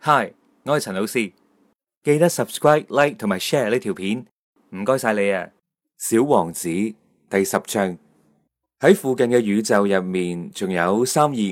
Hi，我係陳老師，記得 subscribe、like 同埋 share 呢條片，唔該晒你啊！小王子第10章。喺附近嘅宇宙入面，仲有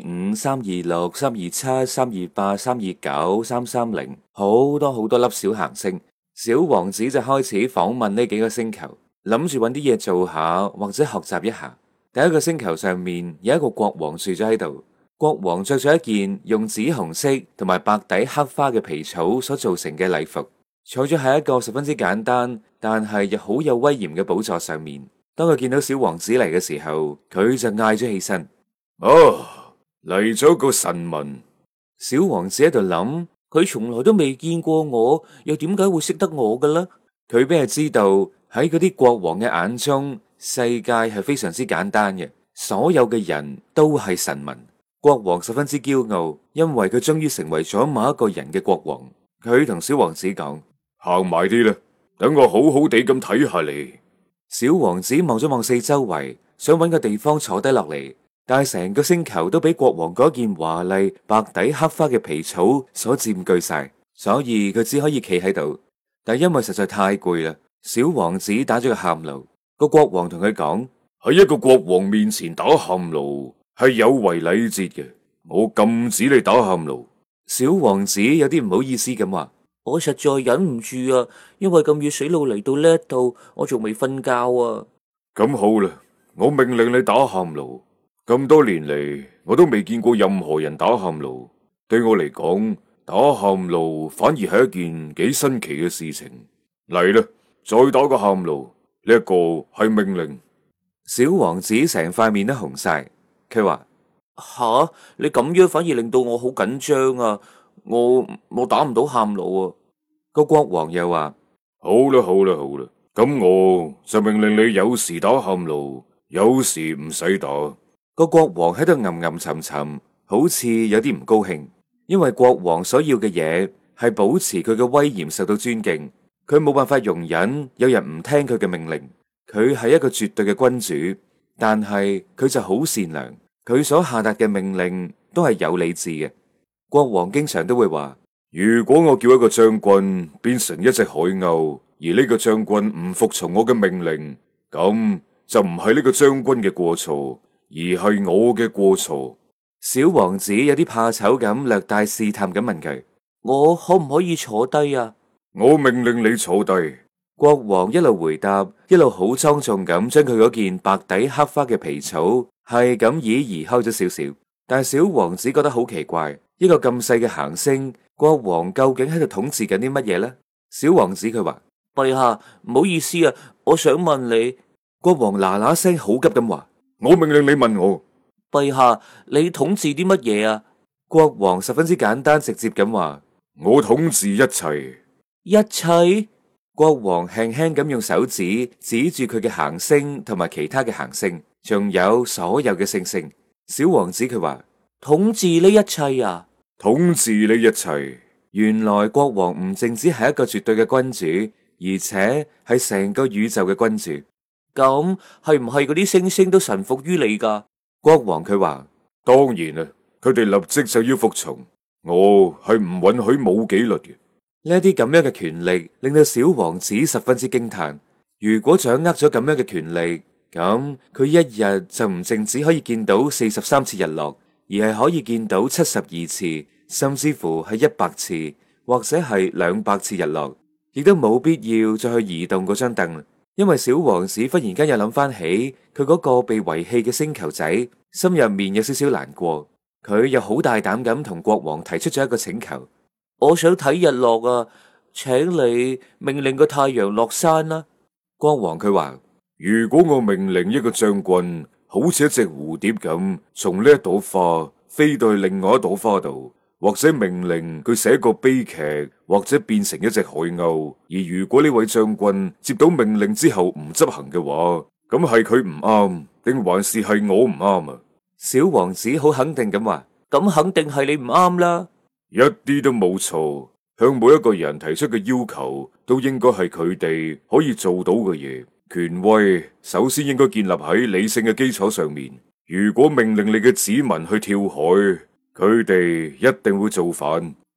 325、326、327、328、329、330，好多好多粒小行星。小王子就開始訪問呢幾個星球，諗住揾啲嘢做下或者學習一下。第一個星球上面有一個國王住咗喺度。國王着咗一件用紫紅色同埋白底黑花嘅皮草所造成嘅禮服，坐咗喺一個十分之簡單但係又好有威嚴嘅寶座上面。當佢見到小王子嚟嘅時候，佢就嗌咗起身：嚟咗個臣民！小王子喺度諗，佢從來都未見過我，又點解會識得我嘅呢？佢邊係知道喺嗰啲國王嘅眼中，世界係非常之簡單嘅，所有嘅人都係臣民。國王十分之驕傲，因為佢終於成為咗某一個人嘅國王。佢同小王子講：行埋啲啦，等我好好地咁睇下你。小王子望咗望四周圍，想搵個地方坐低落嚟，但係成個星球都俾國王嗰件華麗白底黑花嘅皮草所佔據晒，所以佢只可以企喺度。但係因為實在太攰啦，小王子打咗個喊路。個國王同佢講：喺一個國王面前打喊路係有違禮節嘅，我禁止你打喊路。小王子有啲唔好意思咁話：我實在忍唔住啊，因為咁遠水路嚟到呢一度，我仲未瞓覺啊。咁好啦，我命令你打喊路。咁多年嚟，我都未見過任何人打喊路。對我嚟講，打喊路反而係一件幾新奇嘅事情。嚟啦，再打個喊路，呢一個係命令。小王子成塊面都紅晒。佢話：吓，你咁樣反而令到我好緊張啊！我打唔到喊路啊！個國王又話：好啦，咁我就命令你有時打喊路，有時唔使打。個國王喺度吟沉沉，好似有啲唔高興，因為國王所要嘅嘢係保持佢嘅威嚴受到尊敬，佢冇辦法容忍有人唔聽佢嘅命令。佢係一個絕對嘅君主。但係佢就好善良，佢所下達嘅命令都係有理智嘅。國王經常都會話：如果我叫一個將軍變成一隻海鷗，而呢個將軍唔服從我嘅命令，咁就唔係呢個將軍嘅過錯，而係我嘅過錯。小王子有啲怕醜咁，略帶試探咁問佢：我可唔可以坐低啊？我命令你坐低。國王一路回答，一路好莊重咁將佢嗰件白底黑花嘅皮草係咁移開咗少少。但係小王子覺得好奇怪，一個咁細嘅行星，國王究竟喺度統治緊啲乜嘢呢？小王子佢話：陛下，唔好意思啊，我想問你。國王嗱嗱聲好急咁話：我命令你問我。陛下，你統治啲乜嘢啊？國王十分之簡單直接咁話：我統治一切。一切？國王輕輕咁用手指指住佢嘅行星同埋其他嘅行星，仲有所有嘅星星。小王子佢話：統治呢一切啊？統治呢一切。原來國王唔淨止係一個絕對嘅君主，而且係成個宇宙嘅君主。咁係唔係嗰啲星星都臣服於你噶？國王佢話：當然啦，佢哋立即就要服從。我係唔允許冇紀律嘅。呢啲咁樣嘅權力令到小王子十分之驚嘆。如果掌握咗咁樣嘅權力，咁佢一日就唔淨止可以見到43次日落，而係可以見到72次，甚至乎係100次，或者係200次日落，亦都冇必要再去移動嗰張凳。因為小王子忽然間又諗翻起佢嗰個被遺棄嘅星球仔，心入面有少少難過。佢又好大膽咁同國王提出咗一個請求。我想睇日落啊，請你命令個太陽落山啦。國王佢話：如果我命令一個將軍好似一隻蝴蝶咁從呢一朵花飛到去另外一朵花度，或者命令佢寫個悲劇，或者變成一隻海鷗，而如果呢位將軍接到命令之後唔執行嘅話，咁係佢唔啱，定還是係我唔啱啊？小王子好肯定咁話：咁肯定係你唔啱啦。一啲都冇錯，向每一個人提出嘅要求都應該係佢哋可以做到嘅嘢。權威首先應該建立喺理性嘅基礎上面。如果命令你嘅子民去跳海，佢哋一定會造反。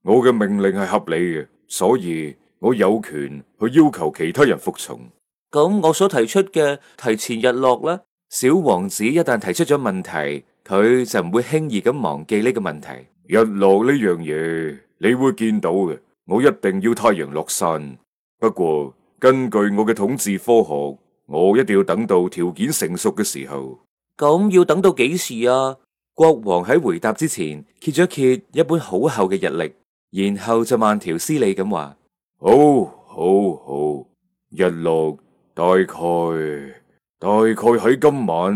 我嘅命令係合理嘅，所以我有權去要求其他人服從。 咁我所提出嘅提前日落呢？小王子一旦提出咗問題，佢就唔會輕易咁忘記呢個問題。 日落呢樣嘢你會見到嘅，我一定要太陽落山。不過根據我嘅統治科學，我一定要等到條件成熟嘅時候。 咁要等到幾時啊？國王喺回答之前揭咗揭一本好厚嘅日曆，然後就慢條斯理咁話： 好，日落大概喺今晚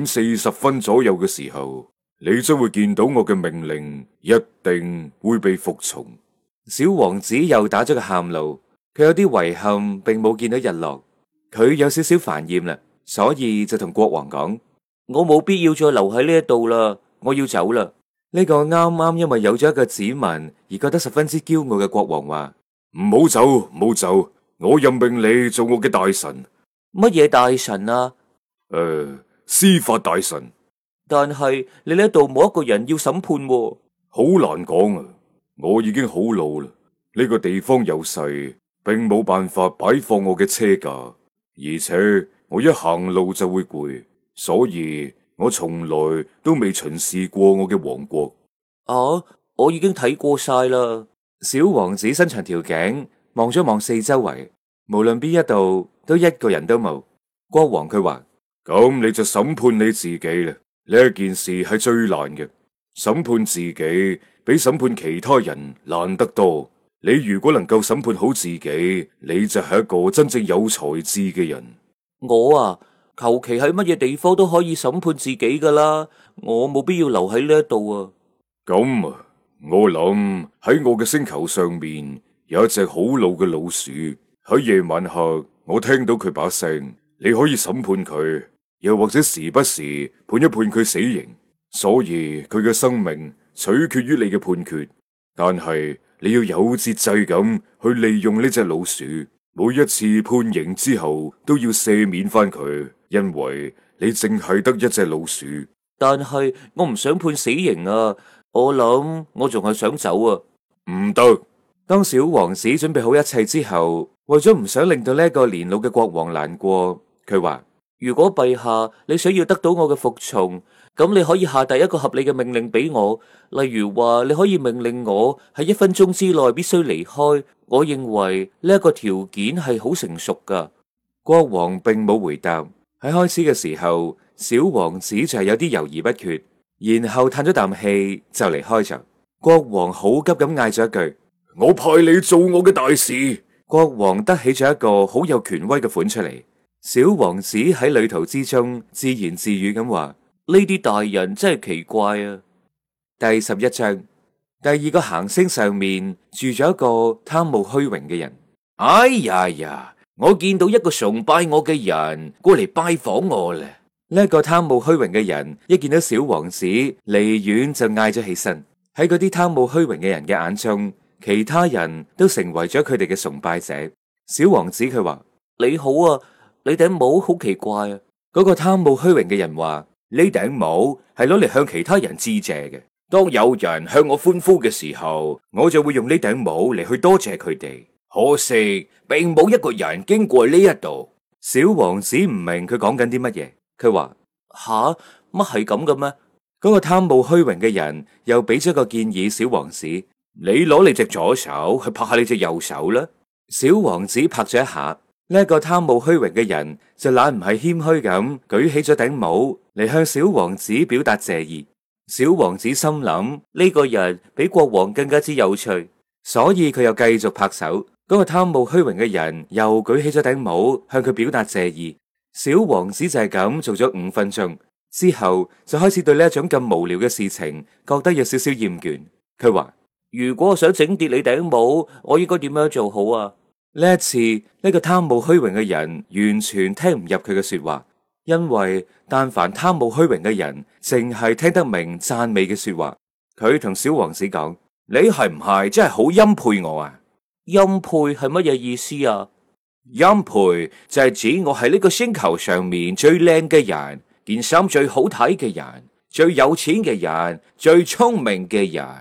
7:40左右嘅時候，你將會見到我嘅命令一定會被服從。 小王子又打咗個喊路，佢有啲遺憾，並冇見到日落，佢有少少煩厭啦，所以就同國王講：我冇必要再留喺呢一度啦，我要走啦。呢個啱啱因為有咗一個子民而覺得十分之驕傲嘅國王話： 唔好走，我任命你做我嘅大臣。 乜嘢大臣啊？ 司法大臣。 但係你呢度冇一個人要審判喎。 好難講啊！我已經好老啦，呢個地方又細，並冇辦法擺放我嘅車架，而且我一行路就會攰，所以我從來都未巡視過我嘅王國。 啊，我已經睇過晒啦。小王子伸長條頸望咗望四周圍，無論邊一度都一個人都冇。國王佢話： 咁你就審判你自己啦。呢一件事係最難嘅，審判自己比審判其他人難得多。你如果能夠審判好自己，你就係一個真正有才智嘅人。 我啊，求其喺乜嘢地方都可以審判自己噶啦，我冇必要留喺呢一度啊。 咁啊，我諗喺我嘅星球上面有一隻好老嘅老鼠，喺夜晚黑我聽到佢把聲，你可以審判佢，又或者時不時判一判佢死刑。所以佢嘅生命取決於你嘅判決，但係你要有節制咁去利用呢隻老鼠，每一次判刑之後都要赦免翻佢，因為你淨係得一隻老鼠。 但係我唔想判死刑啊，我諗我仲係想走啊。 唔得。 當小王子準備好一切之後，為咗唔想令到呢個年老嘅國王難過，佢話：如果陛下你想要得到我嘅服從，咁你可以下第一個合理嘅命令俾我，例如話你可以命令我喺1分鐘之內必須離開。我認為呢一個條件係好成熟噶。國王並冇回答。喺開始嘅時候，小王子就係有啲猶豫不決，然後嘆咗啖氣就離開咗。國王好急咁嗌咗一句： 我派你做我嘅大使。 國王得起咗一個好有權威嘅款出嚟。小王子喺旅途之中自言自語咁話：呢啲大人真係奇怪啊。第11章，第二個行星上面住咗一個貪慕虛榮嘅人。哎呀，我見到一個崇拜我嘅人過嚟拜訪我啦。呢一個貪慕虛榮嘅人一見到小王子，離遠就嗌咗起身。喺嗰啲貪慕虛榮嘅人嘅眼中，其他人都成為咗佢哋嘅崇拜者。小王子佢話：你好啊，你頂帽好奇怪啊。嗰個貪慕虛榮嘅人話：呢頂帽係攞嚟向其他人致謝嘅。當有人向我歡呼嘅時候，我就會用呢頂帽嚟去多謝佢哋。可惜並冇一個人經過呢一度。小王子唔明佢講緊啲乜嘢，佢話：吓，乜係咁嘅咩？嗰個貪慕虛榮嘅人又俾咗個建議小王子：你攞你隻左手去拍下你隻右手啦。小王子拍咗一下，呢一個貪慕虛榮嘅人就懶唔係謙虛咁舉起咗頂帽嚟向小王子表達謝意。小王子心諗呢個人比國王更加之有趣，所以佢又繼續拍手。嗰個貪慕虛榮嘅人又舉起咗頂帽向佢表達謝意。小王子就係咁做咗5分鐘之後，就開始對呢一種咁無聊嘅事情覺得有少少厭倦。佢話：如果我想整跌你頂帽，我應該點樣做好啊？呢一次呢個貪慕虛榮嘅人完全聽唔入佢嘅說話，因為但凡貪慕虛榮嘅人淨係聽得明讚美嘅說話。佢同小王子講：你係唔係真係好欽佩我啊？欽佩係乜嘢意思啊？欽佩就係指我喺呢個星球上面最靚嘅人，件衫最好睇嘅人，最有錢嘅人，最聰明嘅人。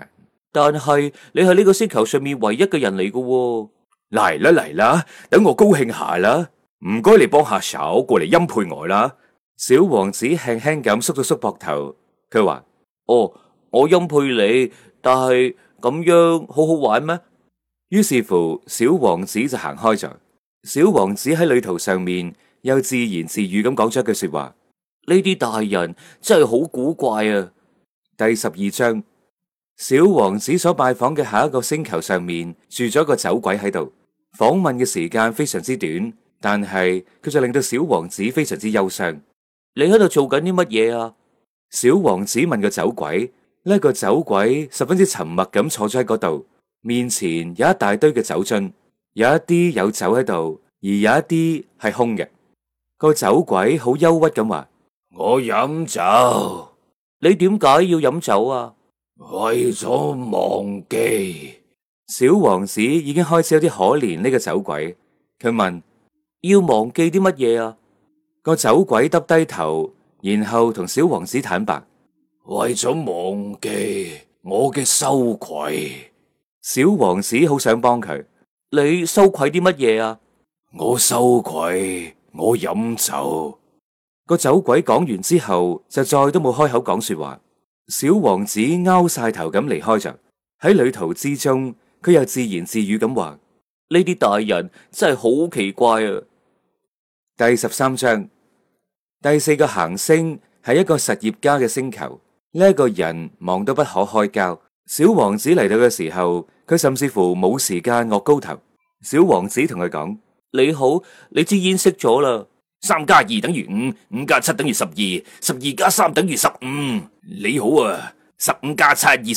但係你係呢個星球上面唯一嘅人嚟㗎喎。 嚟啦嚟啦，等我高興下啦。唔該，你幫下手過嚟欽佩我啦。 小王子輕輕咁縮咗縮膊頭，佢話：哦，我欽佩你，但係咁樣好好玩咩？於是乎，小王子就行開咗。小王子喺旅途上面又自言自語咁講咗一句說話：呢啲大人真係好古怪啊！第12章，小王子所拜訪嘅下一個星球上面住咗個酒鬼喺度。訪問嘅時間非常之短，但係佢就令到小王子非常之憂傷。你喺度做緊啲乜嘢啊？小王子問個酒鬼。呢個酒鬼十分之沉默咁坐咗喺嗰度，面前有一大堆嘅酒樽，有一啲有酒喺度，而有一啲係空嘅。個酒鬼好憂鬱咁話： 我飲酒。 你點解要飲酒啊？ 為咗忘記。 小王子已經開始有啲可憐呢個酒鬼，佢問：要忘記啲乜嘢啊？個酒鬼耷低頭，然後同小王子坦白： 為咗忘記我嘅羞愧。 小王子好想幫佢。你羞愧啲乜嘢啊？ 我羞愧我飲酒。 個酒鬼講完之後就再都冇開口講說話。小王子拗晒頭咁離開咗。喺旅途之中，佢又自言自語咁話：呢啲大人真係好奇怪啊！第13章，第4個行星係一個實業家嘅星球。呢一個人忙到不可開交。小王子嚟到嘅時候，佢甚至乎冇時間岳高頭。小王子同佢講：你好，你支煙熄咗啦。 3加2等於5，5加7等於12，12加3等於15。你好啊，15加7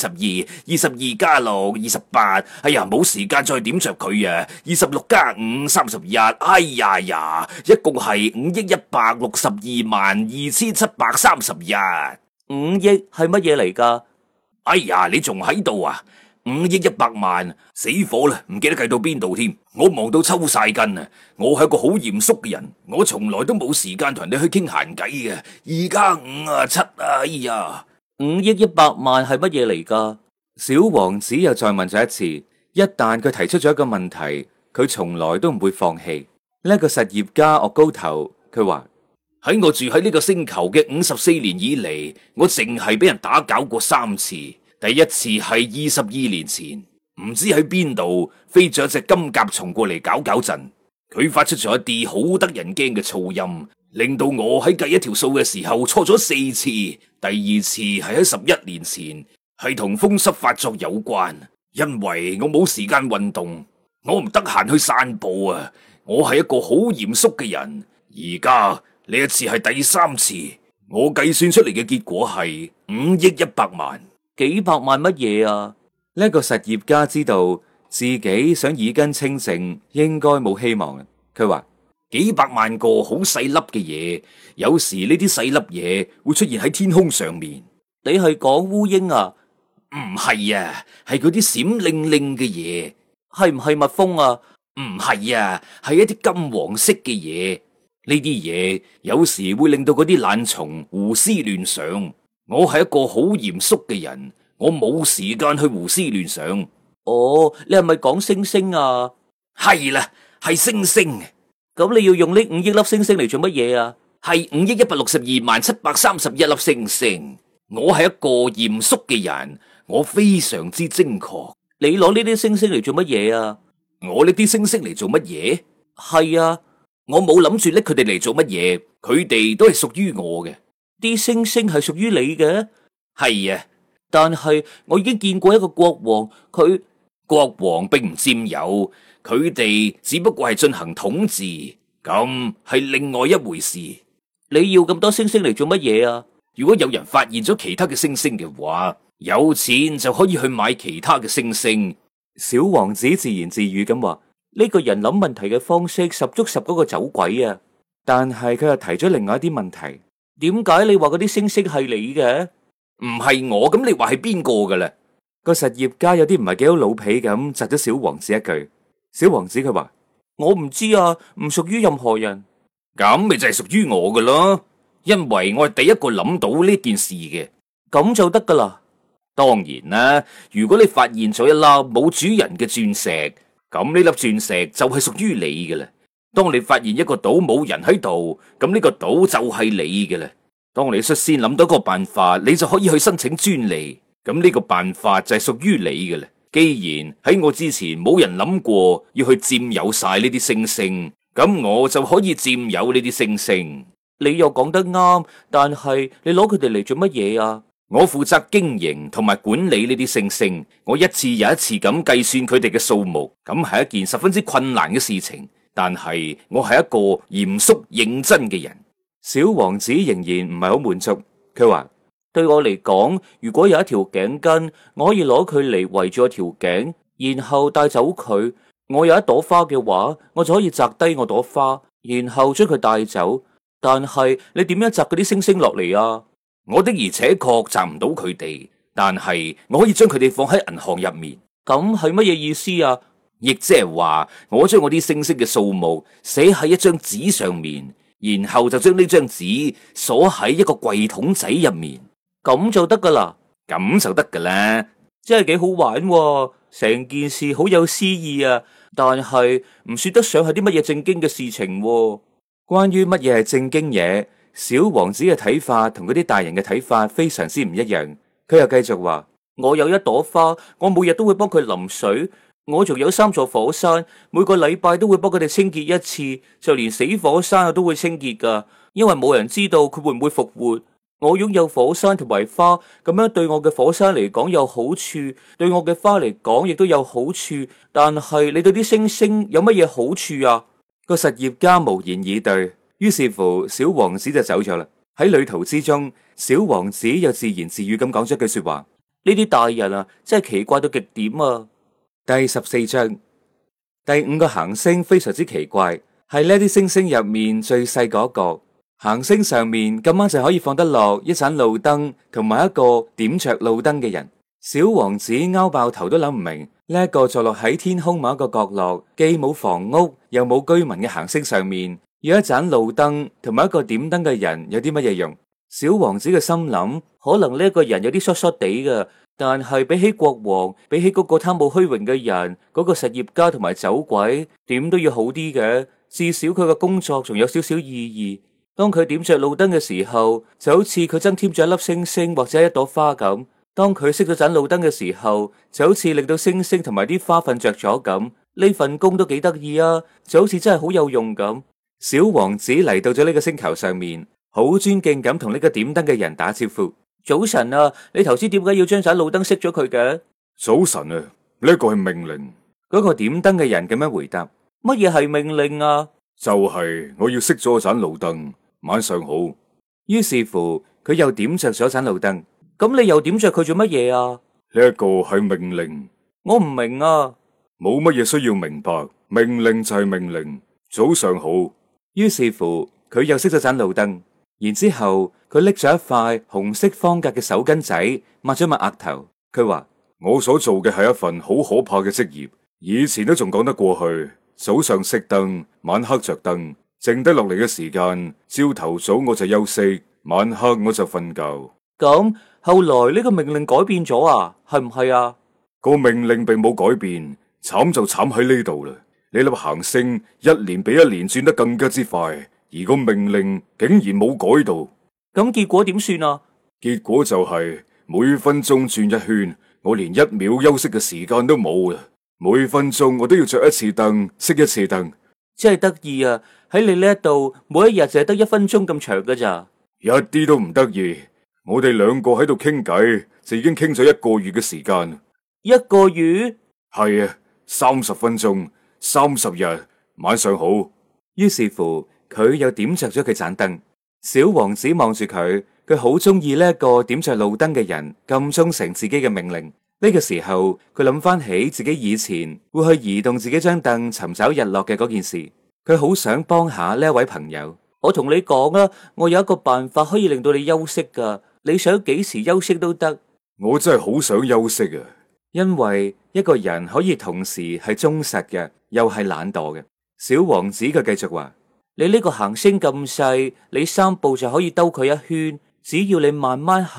22，22加6 28。哎呀，冇時間再點着佢啊！26加5 31。哎呀呀，一共係5億162萬2731。 5億係乜嘢嚟噶？ 哎呀，你仲喺度啊？5億100萬，死火啦！唔記得計到邊度添。我忙到抽晒筋啊！我係一個好嚴肅嘅人，我從來都冇時間同人哋去傾閒偈嘅。2加5啊7啊，哎呀 ！5億100萬係乜嘢嚟噶？小王子又再問咗一次。一旦佢提出咗一個問題，佢從來都唔會放棄。呢個實業家岳高頭，佢話： 喺我住喺呢個星球嘅54年以嚟，我淨係俾人打攪過3次。第一次係22年前，唔知喺邊度飛咗一隻金甲蟲過嚟搞震，佢發出咗一啲好得人驚嘅噪音，令到我喺計一條數嘅時候錯咗4次。第二次係喺11年前，係同風濕發作有關，因為我冇時間運動，我唔得閒去散步啊。我係一個好嚴肅嘅人。而家呢一次係第3次，我計算出嚟嘅結果係5億100萬。 幾百萬乜嘢啊？呢個實業家知道自己想耳根清淨，應該冇希望。佢話： 幾百萬個好細粒嘅嘢，有時呢啲細粒嘢會出現喺天空上面。 你係講烏蠅啊？ 唔係啊，係嗰啲閃靈靈嘅嘢。 係唔係蜜蜂啊？ 唔係啊，係一啲金黃色嘅嘢。呢啲嘢有時會令到嗰啲懶蟲胡思亂想。我係一個好嚴肅嘅人，我冇時間去胡思亂想。 哦，你係咪講星星啊？ 係啦，係星星。 咁你要用呢5億粒星星嚟做乜嘢啊？ 係5億162萬731粒星星。我係一個嚴肅嘅人，我非常之精確。 你攞呢啲星星嚟做乜嘢啊？ 我呢啲星星嚟做乜嘢？ 係啊， 我冇諗住拎佢哋嚟做乜嘢，佢哋都係屬於我嘅。 啲星星係屬於你嘅？ 係啊， 但係我已經見過一個國王， 國王並唔佔有，佢哋只不過係進行統治，咁係另外一回事。 你要咁多星星嚟做乜嘢啊？ 如果有人發現咗其他嘅星星嘅話，有錢就可以去買其他嘅星星。 小王子自言自語咁話：呢個人諗問題嘅方式十足十嗰個酒鬼啊！但係佢又提咗另外一啲問題。點解你話嗰啲星星係你嘅？ 唔係我，咁你話係邊個噶啦？ 個實業家有啲唔係幾好老皮咁，窒咗小王子一句。小王子佢話：我唔知啊，唔屬於任何人。 咁咪就係屬於我噶咯，因為我係第一個諗到呢件事嘅。 咁就得噶啦。 當然啦，如果你發現咗一粒冇主人嘅鑽石，咁呢粒鑽石就係屬於你嘅啦。當你發現一個島冇人喺度，咁呢個島就係你嘅啦。當你率先諗到一個辦法，你就可以去申請專利，咁呢個辦法就係屬於你嘅啦。既然喺我之前冇人諗過要去佔有晒呢啲星星，咁我就可以佔有呢啲星星。 你又講得啱，但係你攞佢哋嚟做乜嘢啊？ 我負責經營同埋管理呢啲星星，我一次又一次咁計算佢哋嘅數目，咁係一件十分之困難嘅事情。但係我係一個嚴肅認真嘅人。 小王子仍然唔係好滿足，佢話：對我嚟講，如果有一條頸巾，我可以攞佢嚟圍住我條頸，然後帶走佢。我有一朵花嘅話，我就可以摘低我朵花，然後將佢帶走。但係你點樣摘嗰啲星星落嚟啊？ 我的而且確摘唔到佢哋，但係我可以將佢哋放喺銀行入面。 咁係乜嘢意思啊？ 亦即係話，我將我啲星星嘅數目寫喺一張紙上面，然後就將呢張紙鎖喺一個櫃桶仔入面， 咁就得噶啦。 咁就得噶啦， 真係幾好玩喎，成件事好有詩意啊！但係唔算得上係啲乜嘢正經嘅事情喎。關於乜嘢係正經嘢，小王子嘅睇法同嗰啲大人嘅睇法非常之唔一樣。佢又繼續話：我有一朵花，我每日都會幫佢淋水。我仲有3座火山，每個禮拜都會幫佢哋清潔一次，就連死火山我都會清潔噶，因為冇人知道佢會唔會復活。我擁有火山同埋花，咁樣對我嘅火山嚟講有好處，對我嘅花嚟講亦都有好處。但係你對啲星星有乜嘢好處啊？個實業家無言以對，於是乎小王子就走咗啦。喺旅途之中，小王子又自言自語咁講咗句說話：呢啲大人啊，真係奇怪到極點啊！第14章，第5個行星非常之奇怪，係呢啲星星入面最細嗰個。行星上面咁啱就可以放得落一盞路燈，同埋一個點着路燈嘅人。小王子拗爆頭都諗唔明，呢一個坐落喺天空某一個角落，既冇房屋又冇居民嘅行星上面，有一盞路燈同埋一個點燈嘅人有啲乜嘢用？小王子嘅心諗，可能呢一個人有啲疏疏地嘅。但係比起國王，比起嗰個貪慕虛榮嘅人，嗰個實業家同埋走鬼，點都要好啲嘅。至少佢嘅工作仲有少少意義。當佢點着路燈嘅時候，就好似佢增添咗一粒星星或者一朵花咁；當佢熄咗盞路燈嘅時候，就好似令到星星同埋啲花瞓着咗咁。呢份工都幾得意啊，就好似真係好有用咁。小王子嚟到咗呢個星球上面，好尊敬咁同呢個點燈嘅人打招呼。早晨啊，你頭先點解要將盞路燈熄咗佢嘅？ 早晨啊，呢個係命令。 嗰個點燈嘅人咁樣回答：乜嘢係命令啊？ 就係我要熄咗盞路燈。晚上好。 於是乎，佢又點着咗盞路燈。咁你又點着佢做乜嘢啊？ 呢一個係命令。 我唔明啊。 冇乜嘢需要明白，命令就係命令。早上好。 於是乎，佢又熄咗盞路燈。然之後佢拎咗一塊紅色方格嘅手巾仔，抹咗抹額頭。佢話： 我所做嘅係一份好可怕嘅職業，以前都仲講得過去。早上熄燈，晚黑着燈，剩低落嚟嘅時間，朝頭早我就休息，晚黑我就瞓覺。 咁後來呢個命令改變咗啊？係唔係啊？ 個命令並冇改變，慘就慘喺呢度啦。呢粒行星一年比一年轉得更加之快。而個命令竟然冇改到， 咁結果點算啊？ 結果就係每分鐘轉一圈，我連1秒休息嘅時間都冇啦。每分鐘我都要着一次燈，熄一次燈。 真係得意啊！喺你呢一度，每一日就係得1分鐘咁長噶咋？ 一啲都唔得意。我哋兩個喺度傾偈，就已經傾咗1個月嘅時間。 1個月？ 係啊，30分鐘，30日。晚上好。 於是乎。佢又點着咗佢盞燈，小王子望住佢，佢好中意呢一個點着路燈嘅人咁忠誠自己嘅命令。呢個時候，佢諗翻起自己以前會去移動自己張凳尋找日落嘅嗰件事，佢好想幫下呢一位朋友。我同你講啦，我有一個辦法可以令到你休息噶，你想幾時休息都得。 我真係好想休息啊， 因為一個人可以同時係忠實嘅，又係懶惰嘅。小王子佢繼續話。你呢個行星咁細，你3步就可以兜佢一圈。只要你慢慢行，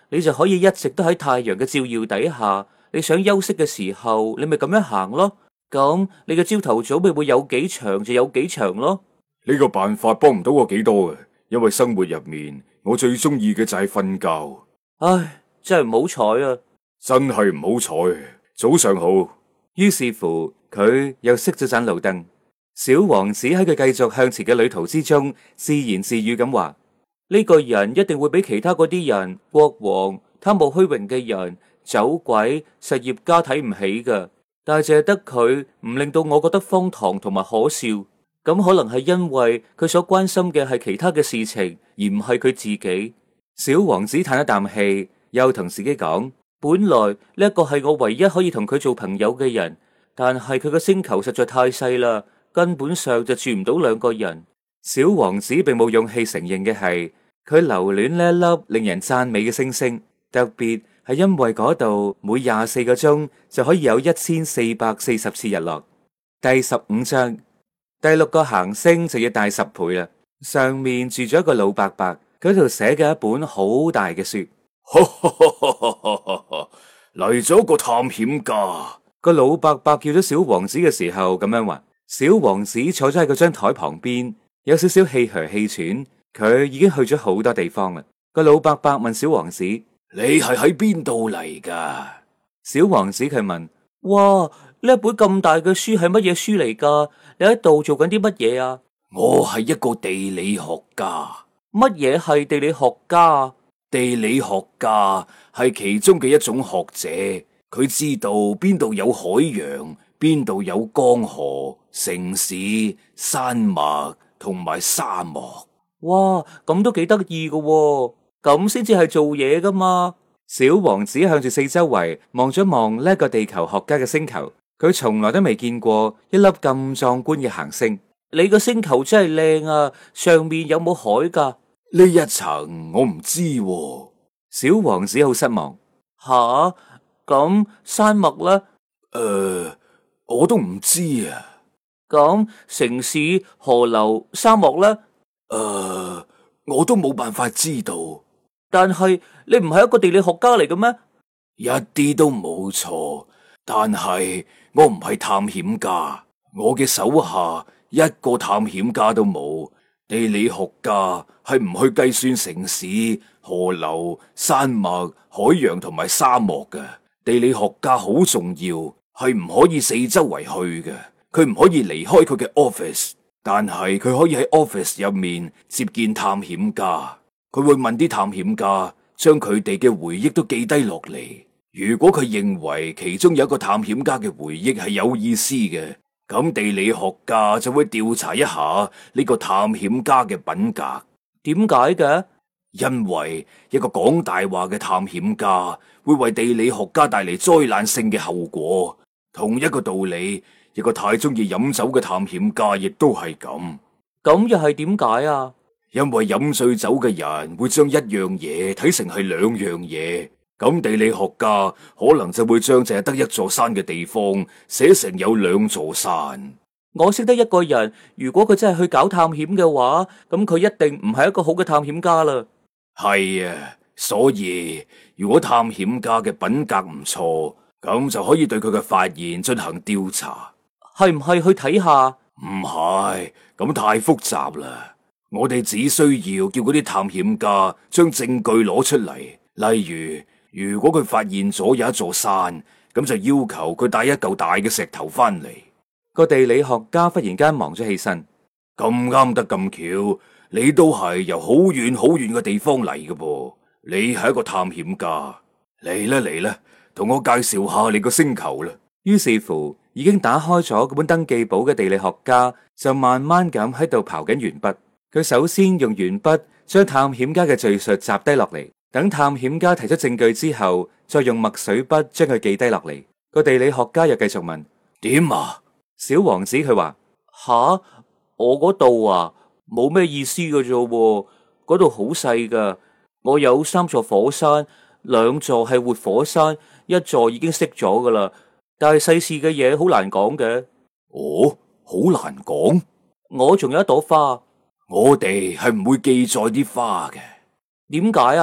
你就可以一直都喺太陽嘅照耀底下。你想休息嘅時候，你咪咁樣行咯。咁你嘅朝頭早咪會有幾長就有幾長咯。 呢個辦法幫唔到我幾多嘅，因為生活入面我最中意嘅就係瞓覺。 唉，真係唔好彩啊！ 真係唔好彩。早上好。 於是乎，佢又熄咗盞路燈。小王子喺佢繼續向前嘅旅途之中，自言自語咁話：呢個人一定會比其他嗰啲人，國王、貪慕虛榮嘅人、酒鬼、實業家睇唔起噶。但係淨係得佢唔令到我覺得荒唐同埋可笑。咁可能係因為佢所關心嘅係其他嘅事情，而唔係佢自己。小王子嘆一啖氣，又同自己講：本來呢一個係我唯一可以同佢做朋友嘅人，但係佢個星球實在太細啦，根本上就住唔到兩個人。小王子並冇勇氣承認嘅係，佢留戀呢一粒令人讚美嘅星星，特別係因為嗰度每24個鐘就可以有1440次日落。第15章，第6個行星就要大10倍啦。上面住咗一個老伯伯，佢度寫嘅一本好大嘅書。 嚟咗個探險家。 個老伯伯叫咗小王子嘅時候咁樣話。小王子坐咗喺嗰張台旁邊，有少少氣噓氣喘。佢已經去咗好多地方啦。個老伯伯問小王子：你係喺邊度嚟噶？ 小王子佢問：哇，呢一本咁大嘅書係乜嘢書嚟噶？你喺度做緊啲乜嘢啊？ 我係一個地理學家。 乜嘢係地理學家啊？ 地理學家係其中嘅一種學者，佢知道邊度有海洋，邊度有江河、城市、山脈同埋沙漠。 哇，咁都幾得意噶，咁先至係做嘢噶嘛。小王子向住四周圍望咗望呢個地球學家嘅星球，佢從來都未見過一粒咁壯觀嘅行星。你個星球真係靚啊，上面有冇海噶？ 呢一層我唔知喎。 小王子好失望。吓，咁山脈呢？ 我都唔知啊。 咁城市、河流、沙漠呢？ 我都冇辦法知道。 但係你唔係一個地理學家嚟嘅咩？ 一啲都冇錯，但係我唔係探險家，我嘅手下一個探險家都冇。地理學家係唔去計算城市、河流、山脈、海洋同埋沙漠嘅。地理學家好重要，係唔可以四周圍去嘅。佢唔可以離開佢嘅 office， 但係佢可以喺 office 入面接見探險家。佢會問啲探險家，將佢哋嘅回憶都記低落嚟。如果佢認為其中有一個探險家嘅回憶係有意思嘅，咁地理學家就會調查一下呢個探險家嘅品格。 點解嘅？ 因為一個講大話嘅探險家會為地理學家帶嚟災難性嘅後果。同一個道理，一個太中意飲酒嘅探險家亦都係咁。 咁又係點解啊？ 因為飲醉酒嘅人會將一樣嘢睇成係兩樣嘢，咁地理學家可能就會將淨係得一座山嘅地方寫成有兩座山。 我識得一個人，如果佢真係去搞探險嘅話，咁佢一定唔係一個好嘅探險家啦。 係啊，所以如果探險家嘅品格唔錯，咁就可以對佢嘅發現進行調查。 係唔係去睇下？ 唔係，咁太複雜啦。我哋只需要叫嗰啲探險家將證據攞出嚟，例如，如果佢發現咗有一座山，咁就要求佢帶一嚿大嘅石頭翻嚟。 個地理學家忽然間忙咗起身。 咁啱得咁巧，你都係由好遠好遠嘅地方嚟嘅噃。你係一個探險家，嚟啦，同我介紹下你個星球啦。 於是乎，已經打開咗嗰本登記簿嘅地理學家就慢慢咁喺度刨緊鉛筆。佢首先用鉛筆將探險家嘅敘述摘低落嚟，等探險家提出證據之後，再用墨水筆將佢記低落嚟。個地理學家又繼續問： 點啊？ 小王子佢話：吓，我嗰度啊，冇咩意思㗎啫，嗰度好細噶。我有3座火山，2座係活火山，1座已經熄咗噶啦。但係世事嘅嘢好難講嘅。 哦，好難講。 我仲有一朵花。 我哋係唔會記載啲花嘅。 點解啊？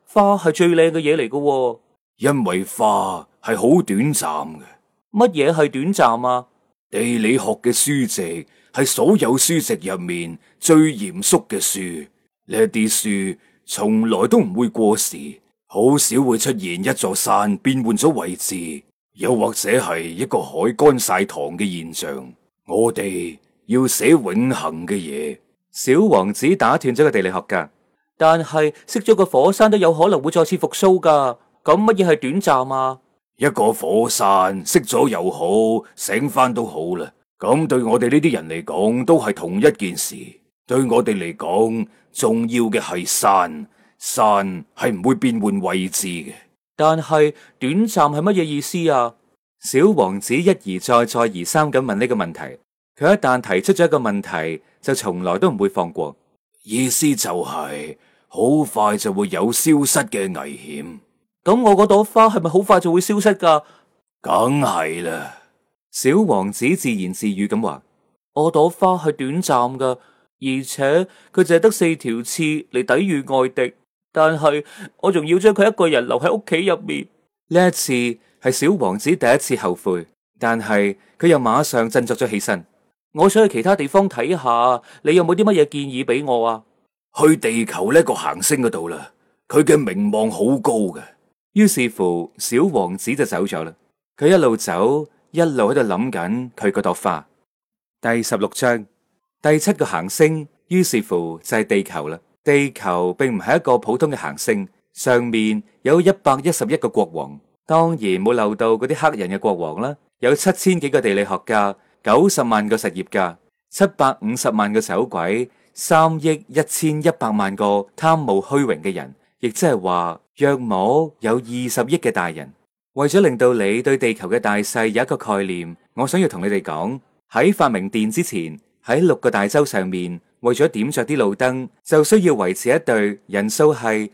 花係最靚嘅嘢嚟㗎。 因為花係好短暫嘅。 乜嘢係短暫啊？ 地理學嘅書籍係所有書籍入面最嚴肅嘅書，呢啲書從來都唔會過時，好少會出現一座山變換咗位置，又或者係一個海乾晒塘嘅現象。我哋要寫永恆嘅嘢。 小王子打斷咗個地理學家，但係熄咗個火山都有可能會再次復甦噶。咁乜嘢係短暫啊？ 一個火山熄咗又好，醒翻都好啦。咁對我哋呢啲人嚟講，都係同一件事。對我哋嚟講，重要嘅係山，山係唔會變換位置嘅。 但係短暫係乜嘢意思啊？小王子一而再，再而三咁問呢個問題。佢一旦提出咗一個問題，就從來都唔會放過。 意思就係好快就會有消失嘅危險。 咁我嗰朵花係咪好快就會消失噶？ 梗係啦。 小王子自言自語咁話：我朵花係短暫噶，而且佢淨係得4條刺嚟抵禦外敵。但係我仲要將佢一個人留喺屋企入面。呢一次係小王子第一次後悔，但係佢又馬上振作咗起身。我想去其他地方睇下，你有冇啲乜嘢建議俾我啊？ 去地球呢個行星嗰度啦，佢嘅名望好高嘅。 於是乎，小王子就走咗啦。佢一路走，一路喺度諗緊佢嗰朵花。第16章，第7個行星，於是乎就係地球啦。地球並唔係一個普通嘅行星，上面有111個國王，當然冇漏到嗰啲黑人嘅國王啦。有7000幾個地理學家，90萬個實業家，750萬個走鬼，3億1100萬個貪慕虛榮嘅人，亦即係話約莫有20億嘅大人。為咗令到你對地球嘅大細有一個概念，我想要同你哋講，喺發明電之前，喺6個大洲上面，為咗點着啲路燈，就需要維持一隊人數係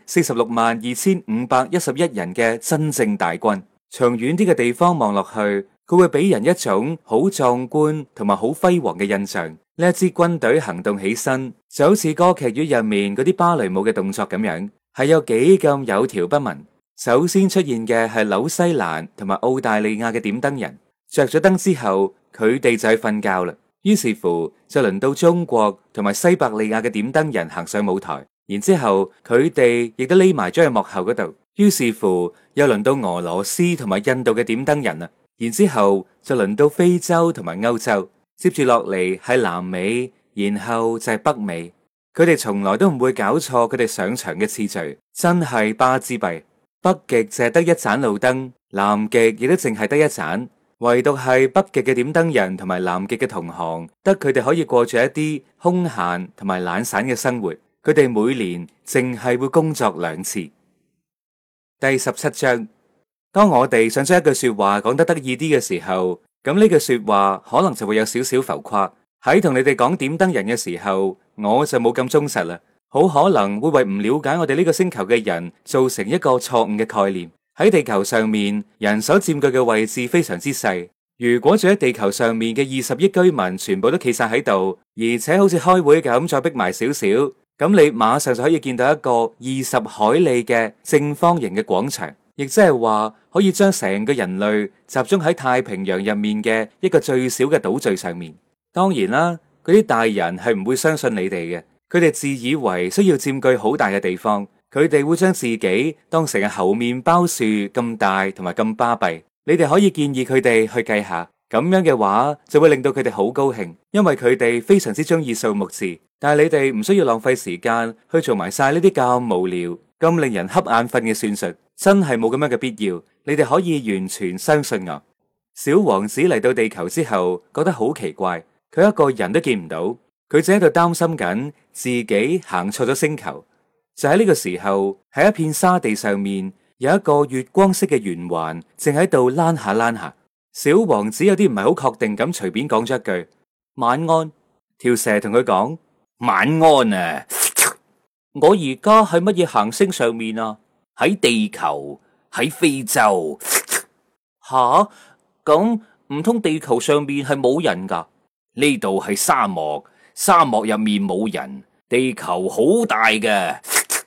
462511人嘅真正大軍。從遠啲嘅地方望落去，佢會俾人一種好壯觀同埋好輝煌嘅印象。呢一支軍隊行動起身，就好似歌劇院入面嗰啲芭蕾舞嘅動作咁樣，係有幾咁有條不紊。首先出現嘅係紐西蘭同埋澳大利亞嘅點燈人，着咗燈之後，佢哋就去瞓覺啦。於是乎就輪到中國同埋西伯利亞嘅點燈人行上舞台，然之後佢哋亦都匿埋咗喺幕後嗰度。於是乎又輪到俄羅斯同埋印度嘅點燈人啦，然之後就輪到非洲同埋歐洲，接住落嚟係南美，然後就係北美。佢哋從來都唔會搞錯佢哋上場嘅次序，真係巴之閉。北極淨係得一盞路燈，南極亦都淨係得一盞。唯獨係北極嘅點燈人同埋南極嘅同行，得佢哋可以過住一啲空閒同埋懶散嘅生活。佢哋每年淨係會工作2次。第17章，當我哋想將一句說話講得得意啲嘅時候，咁呢句說話可能就會有少少浮誇。喺同你哋講點燈人嘅時候，我就冇咁忠實啦，好可能會為唔了解我哋呢個星球嘅人造成一個錯誤嘅概念。喺地球上面，人所佔據嘅位置非常之細。如果住喺地球上面嘅20億居民全部都企晒喺度，而且好似開會咁再逼埋少少，咁你馬上就可以見到一個20海里嘅正方形嘅廣場，亦即係話可以將成個人類集中喺太平洋入面嘅一個最小嘅島嶼上面。當然啦，嗰啲大人係唔會相信你哋嘅，佢哋自以為需要佔據好大嘅地方。佢哋會將自己當成係猴麵包樹咁大同埋咁巴閉。你哋可以建議佢哋去計下，咁樣嘅話就會令到佢哋好高興，因為佢哋非常之中意數目字。但係你哋唔需要浪費時間去做埋晒呢啲咁無聊、咁令人瞌眼瞓嘅算術，真係冇咁樣嘅必要。你哋可以完全相信我。小王子嚟到地球之後，覺得好奇怪，佢一個人都見唔到，佢正喺度擔心緊自己行錯咗星球。就喺呢個時候，喺一片沙地上面有一個月光色嘅圓環，正喺度躝下躝下。小王子有啲唔係好確定咁，隨便講咗一句晚安。條蛇同佢講晚安啊！我而家喺乜嘢行星上面啊？喺地球，喺非洲。吓，咁唔通地球上面係冇人噶？呢度係沙漠，沙漠入面冇人。地球好大嘅。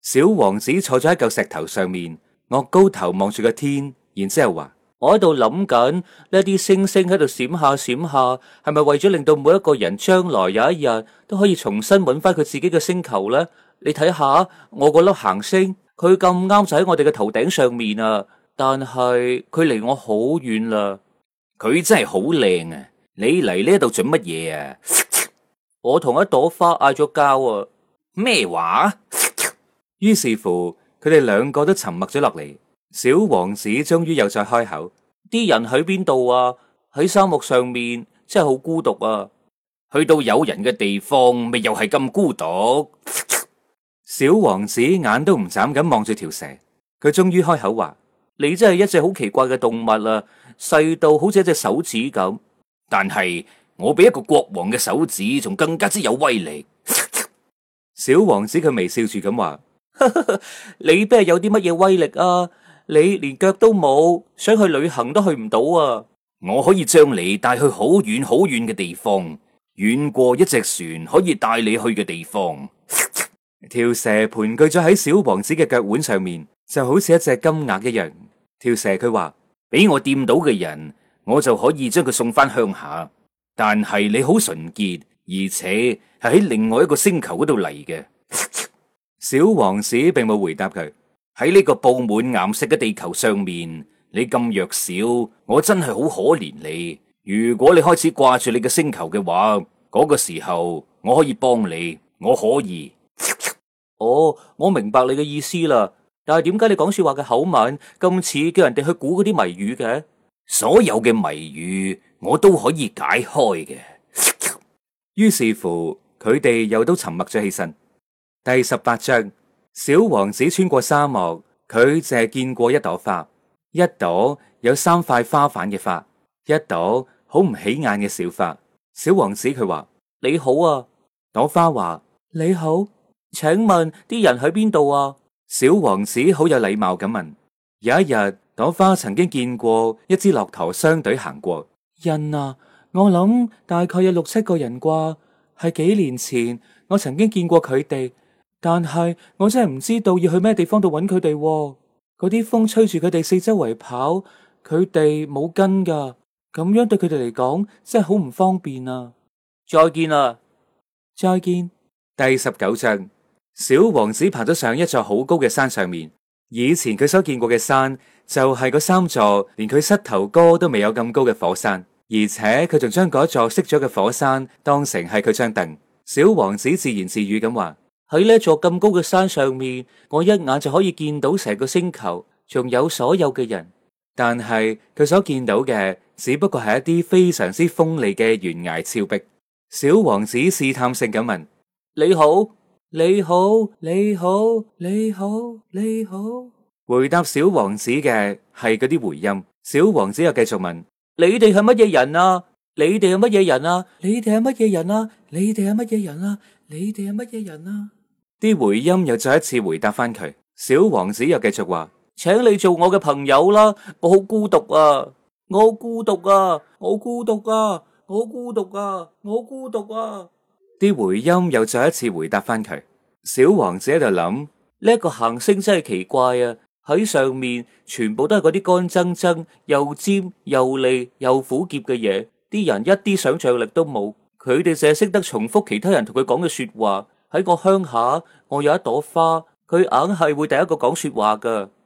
小王子坐咗喺嚿石頭上面，昂高頭望住個天，然之後話：我喺度諗緊呢啲星星喺度閃下閃下，係咪為咗令到每一個人將來有一日都可以重新揾翻佢自己嘅星球呢？你睇下我嗰粒行星，佢咁啱就喺我哋嘅頭頂上面啊，但係佢離我好遠啦。佢真係好靚啊！你嚟呢度做乜嘢啊？我同一朵花嗌咗交啊！咩話？於是乎，佢哋兩個都沉默咗落嚟。小王子終於又再開口：啲人喺邊度啊？喺沙漠上面，真係好孤獨啊！去到有人嘅地方，咪又係咁孤獨。小王子眼都唔眨咁望住條蛇，佢終於開口話：你真係一隻好奇怪嘅動物啊！細到好似一隻手指咁，但係我比一個國王嘅手指仲更加之有威力。小王子佢微笑住咁話：你邊係有啲乜嘢威力啊？你連腳都冇，想去旅行都去唔到啊！我可以將你帶去好遠好遠嘅地方，遠過一隻船可以帶你去嘅地方。條蛇盤踞咗喺小王子嘅腳腕上面，就好似一隻金鴨一樣。條蛇佢話：俾我掂到嘅人，我就可以將佢送翻鄉下。但係你好純潔，而且係喺另外一個星球嗰度嚟嘅。小王子並冇回答佢。喺呢個佈滿岩石嘅地球上面，你咁弱小，我真係好可憐你。如果你開始掛住你嘅星球嘅話，嗰個時候我可以幫你，我可以。哦，我明白你嘅意思啦。但係點解你講說話嘅口吻咁似叫人哋去估嗰啲謎語嘅？所有嘅謎語我都可以解開嘅。於是乎，佢哋又都沉默咗起身。第18章，小王子穿過沙漠，佢淨係見過一朵花，一朵有3塊花瓣嘅花，一朵好唔起眼嘅小花。小王子佢話：你好啊。朵花話：你好，請問啲人喺邊度啊？小王子好有禮貌咁問。有一日，朵花曾經見過一支駱駝商隊行過。人啊，我諗大概有6、7個人啩。係幾年前我曾經見過佢哋，但係我真係唔知道要去咩地方度揾佢哋。嗰啲風吹住佢哋四周圍跑，佢哋冇根噶，咁樣對佢哋嚟講真係好唔方便啊！再見啦，再見。第19章，小王子爬咗上一座好高嘅山上面。以前佢所見過嘅山就係嗰3座連佢膝頭哥都未有咁高嘅火山。而且佢仲將嗰座熄咗嘅火山當成係佢張凳。小王子自言自語咁話：喺呢座咁高嘅山上面，我一眼就可以見到成個星球，仲有所有嘅人。但係佢所見到嘅只不過係一啲非常之鋒利嘅懸崖峭壁。小王子試探性咁問：你好，你好，你好，你好，你好。回答小王子嘅係嗰啲回音。小王子又繼續問：你哋係乜嘢人啊？你哋係乜嘢人啊？你哋係乜嘢人啊？你哋係乜嘢人啊？你哋係乜嘢人啊？啲回音又再一次回答翻佢。小王子又繼續話：請你做我嘅朋友啦！我好孤獨啊！我好孤獨啊！我孤獨啊！我孤獨啊！我孤獨啊！啲回音又再一次回答翻佢。小王子喺度諗：呢一個行星真係奇怪啊！喺上面全部都係嗰啲乾爭爭又尖又利又苦澀嘅嘢，啲人一啲想象力都冇，佢哋淨係識得重複其他人同佢講嘅說話。喺個鄉下，我有一朵花，佢硬係會第一個講說話噶。